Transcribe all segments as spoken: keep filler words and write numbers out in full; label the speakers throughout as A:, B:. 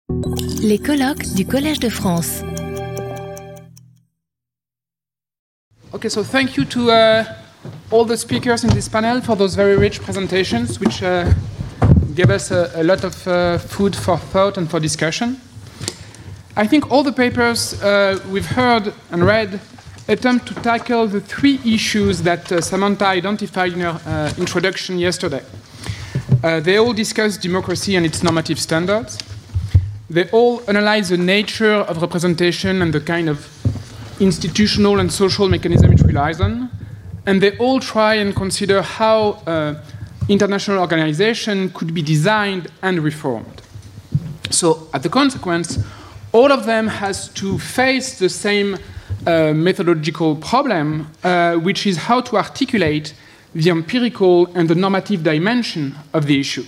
A: Les colloques du Collège de France.
B: Okay, so thank you to uh, all the speakers in this panel for those very rich presentations, which uh, gave us a, a lot of uh, food for thought and for discussion. I think all the papers uh, we've heard and read attempt to tackle the three issues that uh, Samantha identified in her uh, introduction yesterday. Uh, they all discuss democracy and its normative standards. They all analyze the nature of representation and the kind of institutional and social mechanism it relies on. And they all try and consider how uh, international organization could be designed and reformed. So, as a consequence, all of them has to face the same uh, methodological problem, uh, which is how to articulate the empirical and the normative dimension of the issue.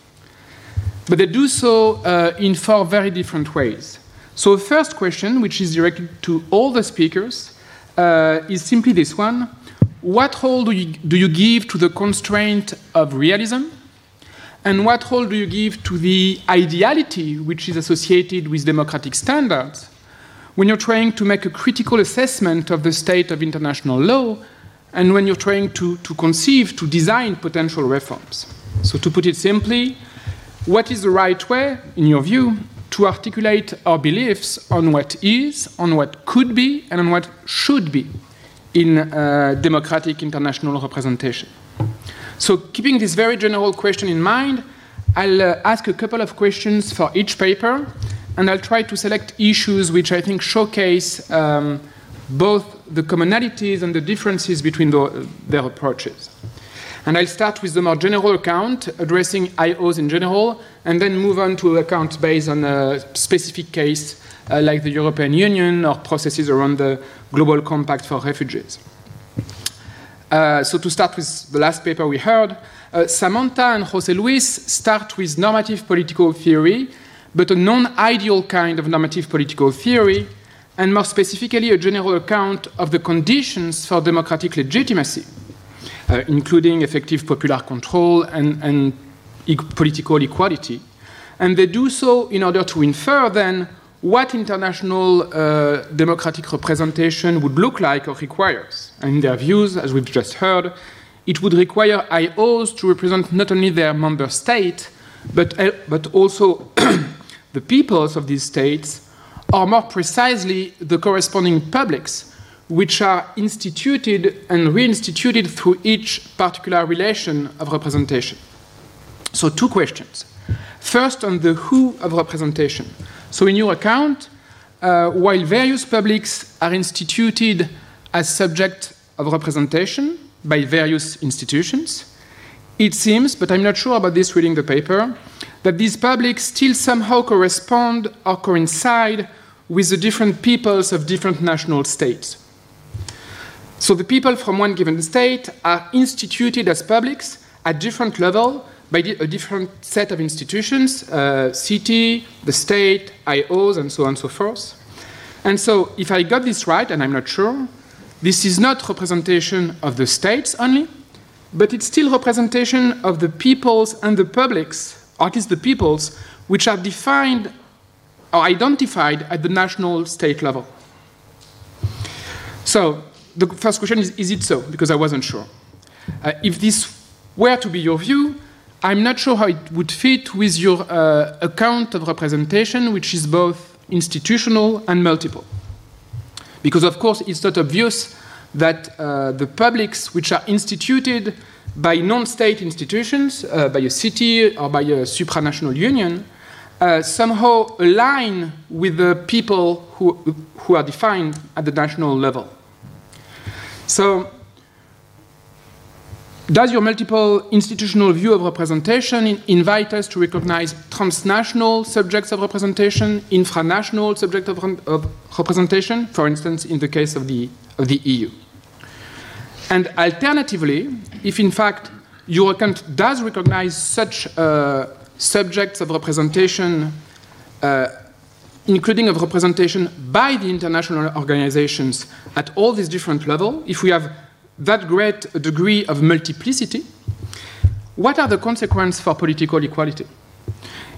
B: But they do so uh, in four very different ways. So the first question, which is directed to all the speakers, uh, is simply this one. What role do you, do you give to the constraint of realism? And what role do you give to the ideality which is associated with democratic standards when you're trying to make a critical assessment of the state of international law and when you're trying to, to conceive, to design potential reforms? So to put it simply, what is the right way, in your view, to articulate our beliefs on what is, on what could be, and on what should be in uh, democratic international representation? So keeping this very general question in mind, I'll uh, ask a couple of questions for each paper, and I'll try to select issues which I think showcase um, both the commonalities and the differences between the, their approaches. And I'll start with the more general account, addressing I Os in general, and then move on to accounts based on a specific case, uh, like the European Union or processes around the Global Compact for Refugees. Uh, so to start with the last paper we heard, uh, Samantha and José Luis start with normative political theory, but a non-ideal kind of normative political theory, and more specifically a general account of the conditions for democratic legitimacy, uh, including effective popular control and, and e- political equality. And they do so in order to infer then what international uh, democratic representation would look like or requires. And in their views, as we've just heard, it would require I Os to represent not only their member state, but, uh, but also the peoples of these states, or more precisely, the corresponding publics, which are instituted and reinstituted through each particular relation of representation. So two questions. First, on the who of representation. So in your account, uh, while various publics are instituted as subject of representation by various institutions, it seems, but I'm not sure about this reading the paper, that these publics still somehow correspond or coincide with the different peoples of different national states. So the people from one given state are instituted as publics at different levels by a different set of institutions, uh, city, the state, I Os, and so on and so forth. And so if I got this right, and I'm not sure, this is not representation of the states only, but it's still representation of the peoples and the publics, or at least the peoples, which are defined or identified at the national state level. So the first question is, is it so? Because I wasn't sure. Uh, if this were to be your view, I'm not sure how it would fit with your uh, account of representation, which is both institutional and multiple. Because, of course, it's not obvious that uh, the publics which are instituted by non-state institutions, uh, by a city or by a supranational union, uh, somehow align with the people who, who are defined at the national level. So, does your multiple institutional view of representation in, invite us to recognize transnational subjects of representation, infranational subjects of, of representation, for instance, in the case of the, of the E U? And alternatively, if in fact your account does recognize such uh, subjects of representation, uh, including of representation by the international organizations at all these different levels, if we have that great a degree of multiplicity, what are the consequences for political equality?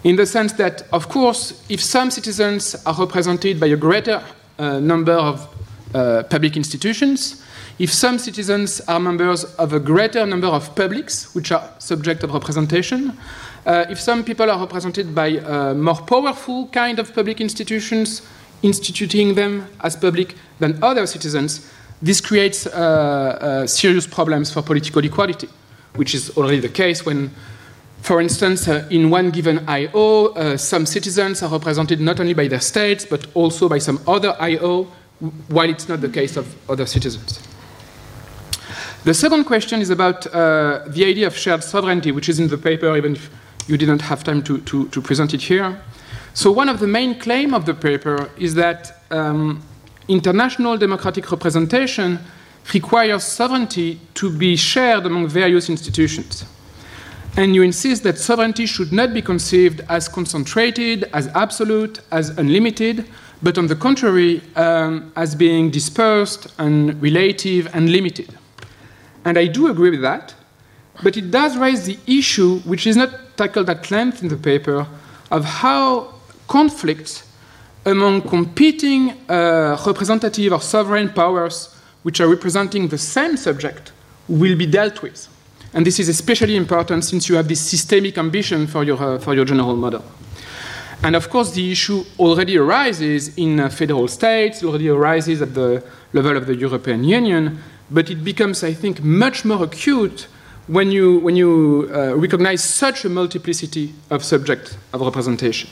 B: in the sense that, of course, if some citizens are represented by a greater uh, number of uh, public institutions, if some citizens are members of a greater number of publics, which are subject of representation, uh, if some people are represented by uh, more powerful kind of public institutions, instituting them as public than other citizens, this creates uh, uh, serious problems for political equality, which is already the case when, for instance, uh, in one given I O, uh, some citizens are represented not only by their states, but also by some other I O, while it's not the case of other citizens. The second question is about uh, the idea of shared sovereignty, which is in the paper, even if you didn't have time to, to, to present it here. So one of the main claims of the paper is that um, international democratic representation requires sovereignty to be shared among various institutions. And you insist that sovereignty should not be conceived as concentrated, as absolute, as unlimited, but on the contrary, um, as being dispersed and relative and limited. And I do agree with that, but it does raise the issue, which is not tackled at length in the paper, of how conflicts among competing uh, representative or sovereign powers which are representing the same subject will be dealt with. And this is especially important since you have this systemic ambition for your, uh, for your general model. And of course, the issue already arises in uh, federal states, already arises at the level of the European Union, but it becomes, I think, much more acute when you, when you uh, recognize such a multiplicity of subjects of representation.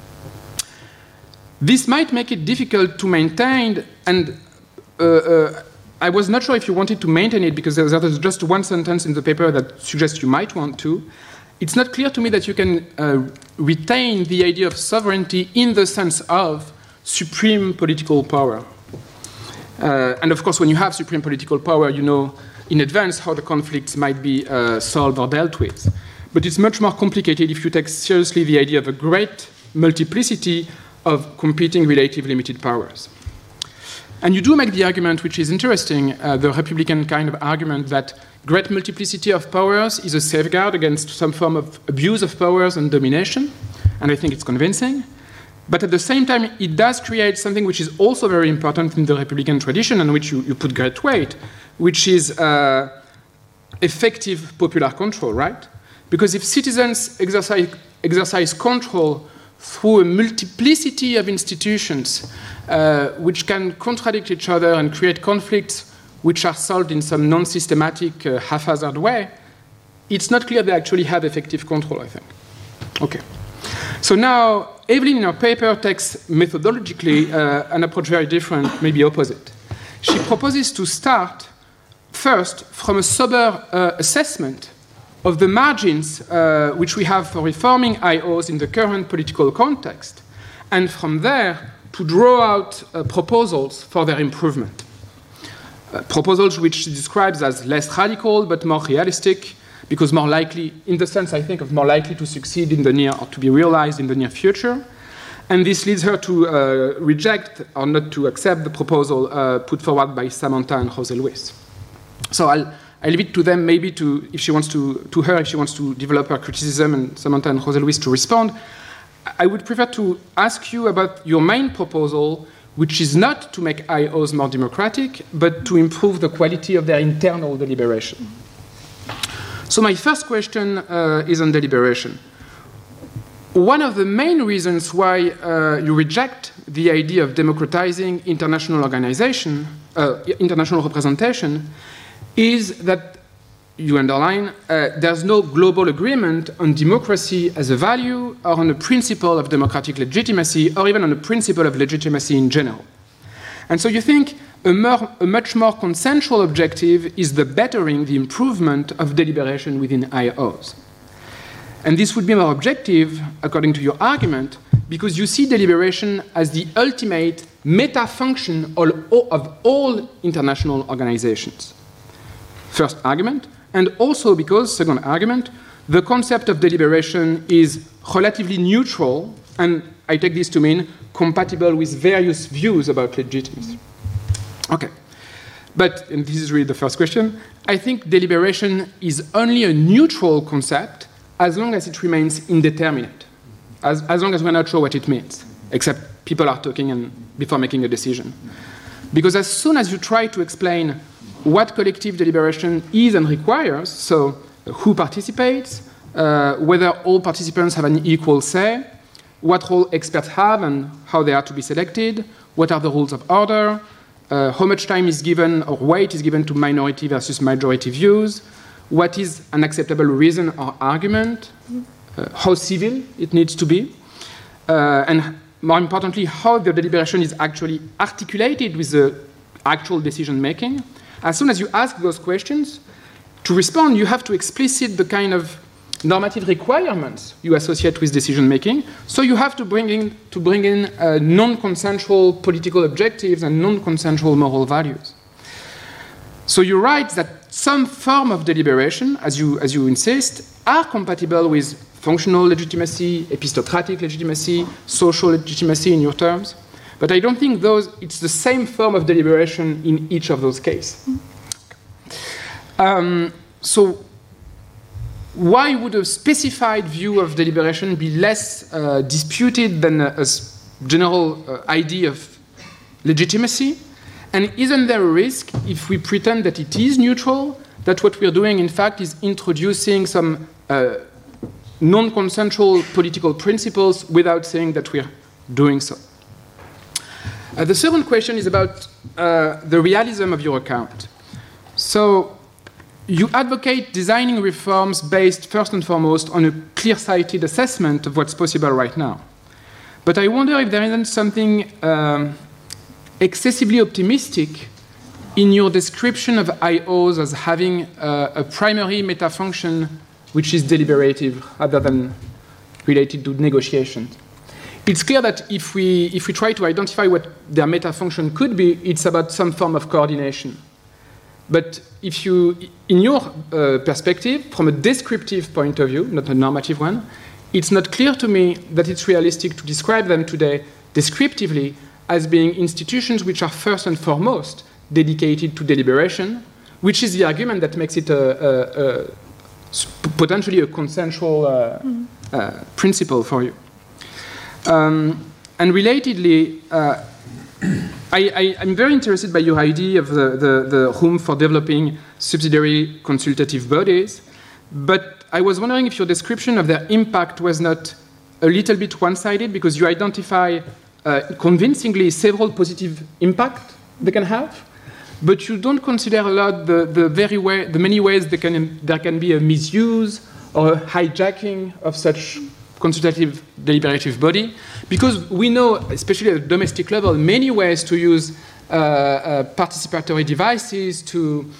B: This might make it difficult to maintain, and uh, uh, I was not sure if you wanted to maintain it because there was just one sentence in the paper that suggests you might want to. It's not clear to me that you can uh, retain the idea of sovereignty in the sense of supreme political power. Uh, and of course, when you have supreme political power, you know in advance how the conflicts might be uh, solved or dealt with. But it's much more complicated if you take seriously the idea of a great multiplicity of competing relative limited powers. And you do make the argument, which is interesting, uh, the Republican kind of argument that great multiplicity of powers is a safeguard against some form of abuse of powers and domination, and I think it's convincing. But at the same time, it does create something which is also very important in the Republican tradition and which you, you put great weight, which is uh, effective popular control, right? Because if citizens exercise, exercise control through a multiplicity of institutions uh, which can contradict each other and create conflicts which are solved in some non-systematic, uh, haphazard way, it's not clear they actually have effective control, I think. Okay. So now, Evelyn in her paper takes methodologically uh, an approach very different, maybe opposite. She proposes to start first from a sober uh, assessment of the margins uh, which we have for reforming I Os in the current political context, and from there to draw out uh, proposals for their improvement. Uh, proposals which she describes as less radical but more realistic, because more likely, in the sense, I think, of more likely to succeed in the near, or to be realized in the near future. And this leads her to uh, reject, or not to accept, the proposal uh, put forward by Samantha and Jose Luis. So I'll, I'll leave it to them, maybe to, if she wants to, to her, if she wants to develop her criticism, and Samantha and Jose Luis to respond. I would prefer to ask you about your main proposal, which is not to make I Os more democratic, but to improve the quality of their internal deliberation. So my first question uh, is on deliberation. One of the main reasons why uh, you reject the idea of democratizing international organization, uh, international representation, is that you underline uh, there's no global agreement on democracy as a value or on a principle of democratic legitimacy or even on a principle of legitimacy in general. And so you think a, more, a much more consensual objective is the bettering, the improvement of deliberation within I Os. And this would be more objective, according to your argument, because you see deliberation as the ultimate meta-function of all international organizations. First argument. And also because, second argument, the concept of deliberation is relatively neutral, and I take this to mean compatible with various views about legitimacy. Okay. But, and this is really the first question, I think deliberation is only a neutral concept as long as it remains indeterminate. as, as long as we're not sure what it means, except people are talking and before making a decision. Because as soon as you try to explain what collective deliberation is and requires, so uh, who participates, uh, whether all participants have an equal say, what role experts have and how they are to be selected, what are the rules of order, uh, how much time is given or weight is given to minority versus majority views, what is an acceptable reason or argument, uh, how civil it needs to be, uh, and more importantly, how the deliberation is actually articulated with the actual decision making. As soon as you ask those questions, to respond, you have to explicit the kind of normative requirements you associate with decision making. So you have to bring in, to bring in uh, non-consensual political objectives and non-consensual moral values. So you write that some form of deliberation, as you, as you insist, are compatible with functional legitimacy, epistocratic legitimacy, social legitimacy in your terms. But I don't think those, it's the same form of deliberation in each of those cases. Um, so why would a specified view of deliberation be less uh, disputed than a, a general uh, idea of legitimacy? And isn't there a risk, if we pretend that it is neutral, that what we're doing, in fact, is introducing some uh, non-consensual political principles without saying that we're doing so? Uh, the second question is about uh, the realism of your account. So you advocate designing reforms based first and foremost on a clear-sighted assessment of what's possible right now. But I wonder if there isn't something um, excessively optimistic in your description of I Os as having uh, a primary meta-function which is deliberative rather than related to negotiations. It's clear that if we, if we try to identify what their meta-function could be, it's about some form of coordination. But if you, in your uh, perspective, from a descriptive point of view, not a normative one, it's not clear to me that it's realistic to describe them today descriptively as being institutions which are first and foremost dedicated to deliberation, which is the argument that makes it a, a, a potentially a consensual uh, mm. uh, principle for you. Um, and relatedly, uh, I, I, I'm very interested by your idea of the, the, the room for developing subsidiary consultative bodies, but I was wondering if your description of their impact was not a little bit one-sided, because you identify uh, convincingly several positive impacts they can have, but you don't consider a lot the, the, very way, the many ways they can, there can be a misuse or a hijacking of such consultative deliberative body, because we know, especially at the domestic level, many ways to use uh, uh, participatory devices to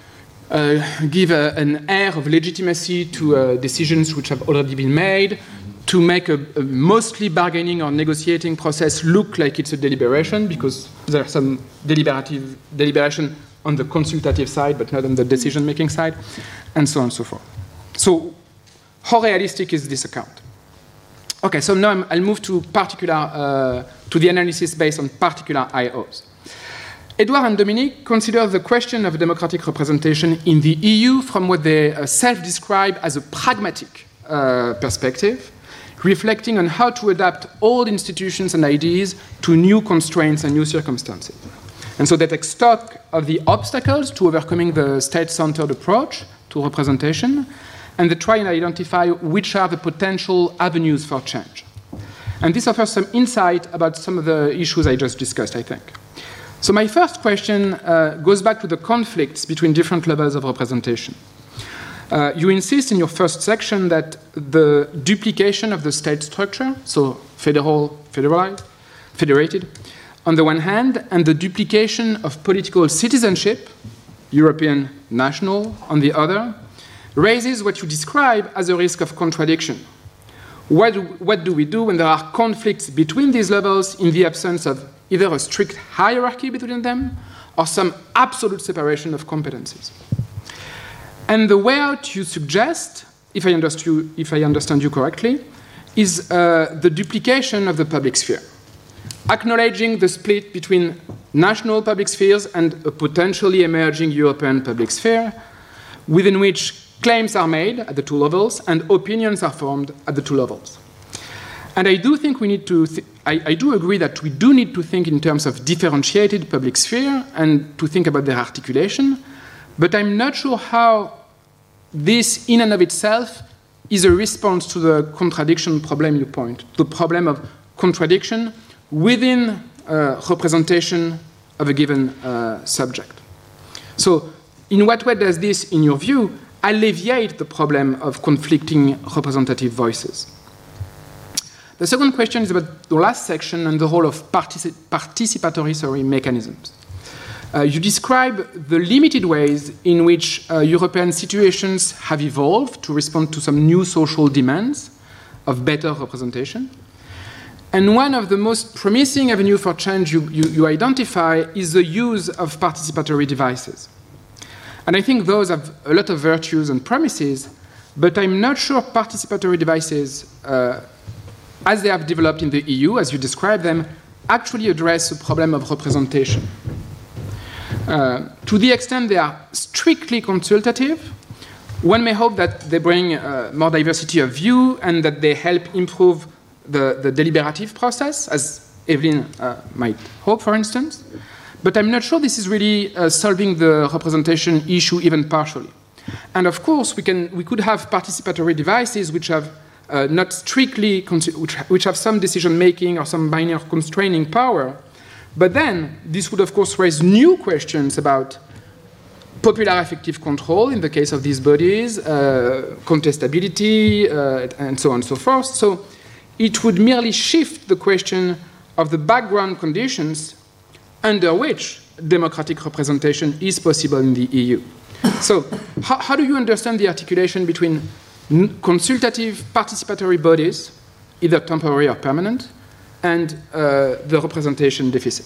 B: uh, give a, an air of legitimacy to uh, decisions which have already been made, to make a, a mostly bargaining or negotiating process look like it's a deliberation, because there's some deliberative deliberation on the consultative side, but not on the decision-making side, and so on and so forth. So how realistic is this account? Okay, so now I'm, I'll move to particular, uh, to the analysis based on particular I Os. Edouard and Dominique consider the question of democratic representation in the E U from what they uh, self-describe as a pragmatic uh, perspective, reflecting on how to adapt old institutions and ideas to new constraints and new circumstances. And so they take stock of the obstacles to overcoming the state-centered approach to representation, and they try and identify which are the potential avenues for change. And this offers some insight about some of the issues I just discussed, I think. So my first question uh, goes back to the conflicts between different levels of representation. Uh, you insist in your first section that the duplication of the state structure, so federal, federalized, federated, on the one hand, and the duplication of political citizenship, European national, on the other, raises what you describe as a risk of contradiction. What do, what do we do when there are conflicts between these levels in the absence of either a strict hierarchy between them or some absolute separation of competencies? And the way out you suggest, if I understand, if I understand you correctly, is uh, the duplication of the public sphere, acknowledging the split between national public spheres and a potentially emerging European public sphere, within which claims are made at the two levels and opinions are formed at the two levels. And I do think we need to, th I, I do agree that we do need to think in terms of differentiated public sphere and to think about their articulation, but I'm not sure how this in and of itself is a response to the contradiction problem you point, the problem of contradiction within uh, representation of a given uh, subject. So in what way does this, in your view, alleviate the problem of conflicting representative voices? The second question is about the last section and the role of partici participatory sorry, mechanisms. Uh, you describe the limited ways in which uh, European situations have evolved to respond to some new social demands of better representation. And one of the most promising avenues for change you, you, you identify is the use of participatory devices. And I think those have a lot of virtues and promises, but I'm not sure participatory devices, uh, as they have developed in the E U, as you describe them, actually address the problem of representation. Uh, to the extent they are strictly consultative, one may hope that they bring uh, more diversity of view and that they help improve the, the deliberative process, as Evelyn uh, might hope, for instance. But I'm not sure this is really uh, solving the representation issue even partially. And of course, we, can, we could have participatory devices which have uh, not strictly, which, which have some decision-making or some binary constraining power. But then, this would of course raise new questions about popular effective control in the case of these bodies, uh, contestability, uh, and so on and so forth. So it would merely shift the question of the background conditions under which democratic representation is possible in the E U. So how, how do you understand the articulation between consultative participatory bodies, either temporary or permanent, and uh, the representation deficit?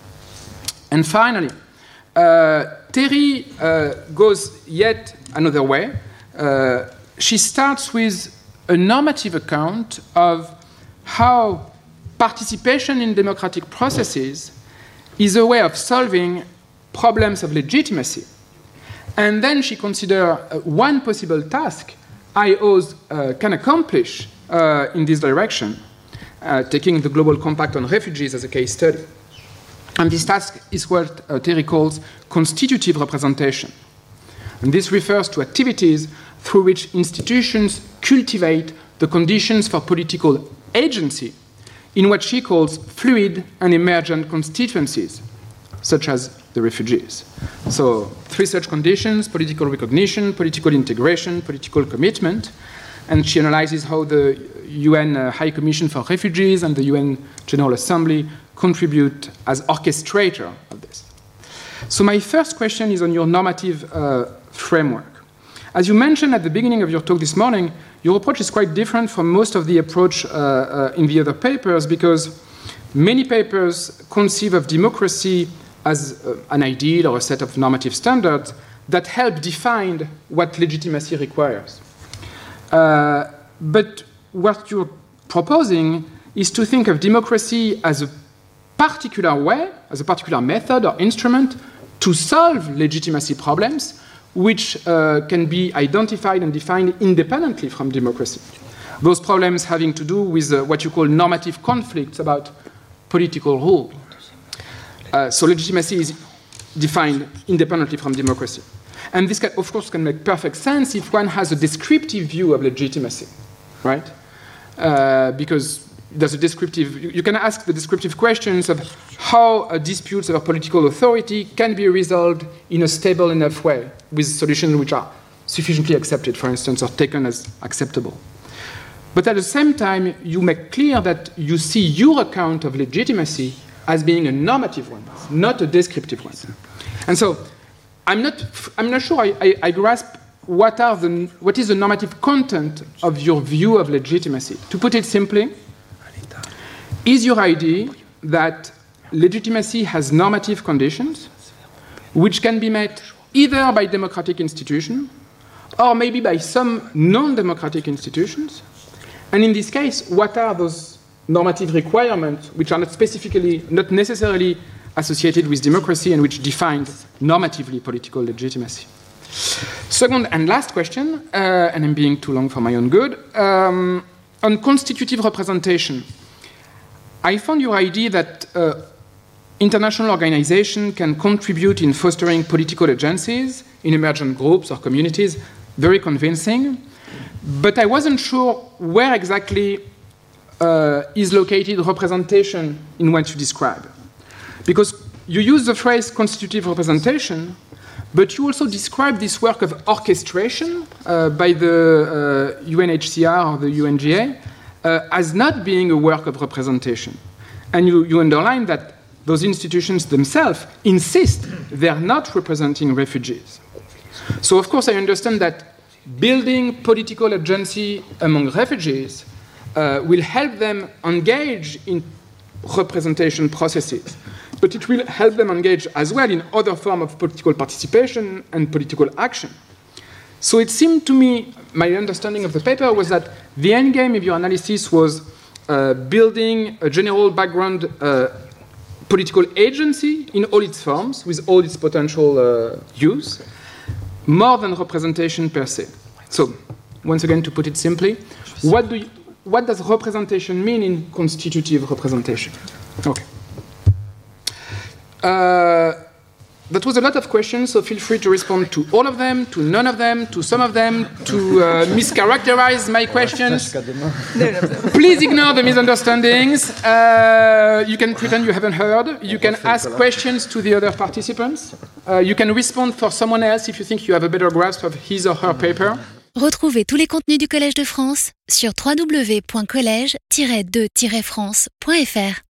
B: And finally, uh, Terry uh, goes yet another way. Uh, she starts with a normative account of how participation in democratic processes is a way of solving problems of legitimacy. And then she considers uh, one possible task I Os uh, can accomplish uh, in this direction, uh, taking the Global Compact on Refugees as a case study. And this task is what uh, Terry calls constitutive representation. And this refers to activities through which institutions cultivate the conditions for political agency in what she calls fluid and emergent constituencies, such as the refugees. So three such conditions: political recognition, political integration, political commitment. And she analyzes how the U N uh, High Commission for Refugees and the U N General Assembly contribute as orchestrator of this. So my first question is on your normative uh, framework. As you mentioned at the beginning of your talk this morning, your approach is quite different from most of the approach uh, uh, in the other papers, because many papers conceive of democracy as uh, an ideal or a set of normative standards that help define what legitimacy requires. Uh, but what you're proposing is to think of democracy as a particular way, as a particular method or instrument to solve legitimacy problems, which uh, can be identified and defined independently from democracy. Those problems having to do with uh, what you call normative conflicts about political rule. Uh, so legitimacy is defined independently from democracy. And this, can, of course, can make perfect sense if one has a descriptive view of legitimacy, right? Uh, because there's a descriptive, you, you can ask the descriptive questions of how uh, disputes over political authority can be resolved in a stable enough way with solutions which are sufficiently accepted, for instance, or taken as acceptable. But at the same time, you make clear that you see your account of legitimacy as being a normative one, not a descriptive one. And so I'm not, I'm not sure I, I, I grasp what, are the, what is the normative content of your view of legitimacy. To put it simply, is your idea that legitimacy has normative conditions which can be met either by democratic institutions or maybe by some non-democratic institutions? And in this case, what are those normative requirements which are not specifically, not necessarily associated with democracy and which define normatively political legitimacy? Second and last question, uh, and I'm being too long for my own good. Um, on constitutive representation, I found your idea that uh, international organizations can contribute in fostering political agencies in emergent groups or communities very convincing, but I wasn't sure where exactly uh, is located representation in what you describe. Because you use the phrase constitutive representation, but you also describe this work of orchestration uh, by the uh, U N H C R or the U N G A uh, as not being a work of representation. And you, you underline that those institutions themselves insist they're not representing refugees. So, of course, I understand that building political agency among refugees uh, will help them engage in representation processes, but it will help them engage as well in other forms of political participation and political action. So it seemed to me, my understanding of the paper was that the end game of your analysis was uh, building a general background uh, political agency in all its forms, with all its potential uh, use, more than representation per se. So, once again, to put it simply, what, do you, what does representation mean in constitutive representation? Okay. Uh, that was a lot of questions, so feel free to respond to all of them, to none of them, to some of them, to uh, mischaracterize my questions. Please ignore the misunderstandings. Uh, you can pretend you haven't heard. You can ask questions to the other participants. Uh, you can respond for someone else if you think you have a better grasp of his or her paper.
A: Retrouvez tous les contenus du Collège de France sur w w w point collège tiret de tiret france point f r.